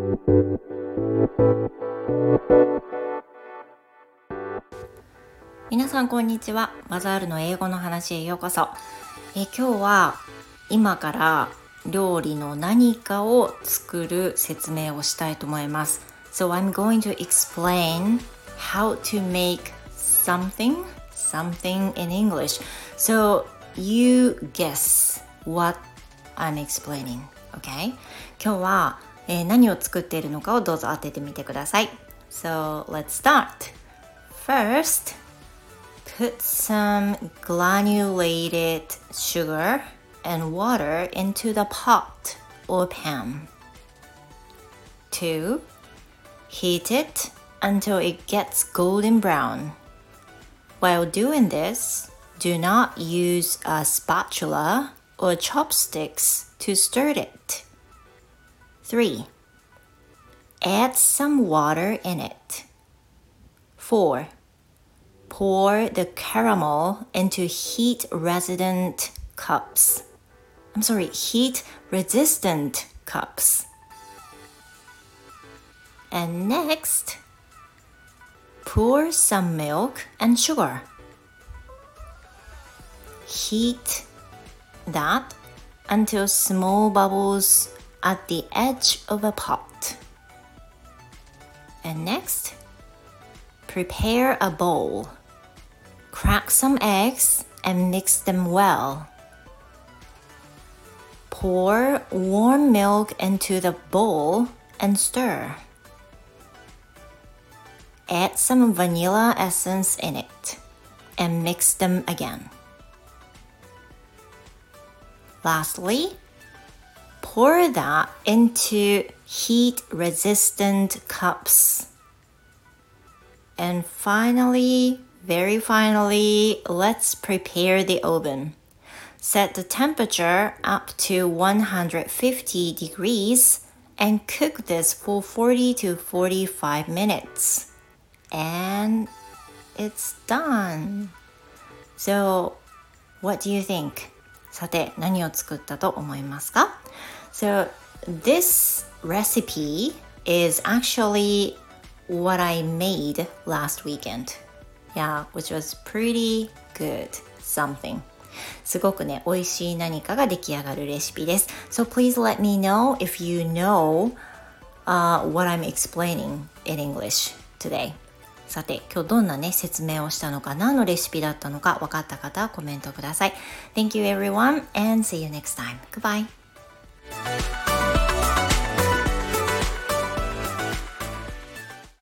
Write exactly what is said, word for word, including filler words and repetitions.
皆さんこんにちは。バザールの英語の話へようこそ。え今日は今から料理の何かを作る説明をしたいと思います。So I'm going to explain how to make something, something in English. So you guess what I'm explaining, okay? 今日は、えー、何を作っているのかをどうぞ当ててみてください。So let's start. First,Put some granulated sugar and water into the pot or pan. two. Heat it until it gets golden brown. While doing this, do not use a spatula or chopsticks to stir it. three. Add some water in it. four.Pour the caramel into heat-resistant cups. I'm sorry, heat-resistant cups. And next, pour some milk and sugar. Heat that until small bubbles at the edge of a pot. And next, prepare a bowl.Crack some eggs and mix them well. Pour warm milk into the bowl and stir. Add some vanilla essence in it and mix them again. Lastly, pour that into heat-resistant cups. And finally,Very finally, let's prepare the oven. Set the temperature up to one hundred fifty degrees and cook this for forty to forty-five minutes. And it's done. So, what do you think? さて、何を作ったと思いますか? So, this recipe is actually what I made last weekend.Yeah, which was pretty good something. すごくね、美味しい何かが出来上がるレシピです。So please let me know if you know、uh, what I'm explaining in English today. さて、今日どんなね、説明をしたのか何のレシピだったのか分かった方はコメントください。Thank you everyone and see you next time. Goodbye.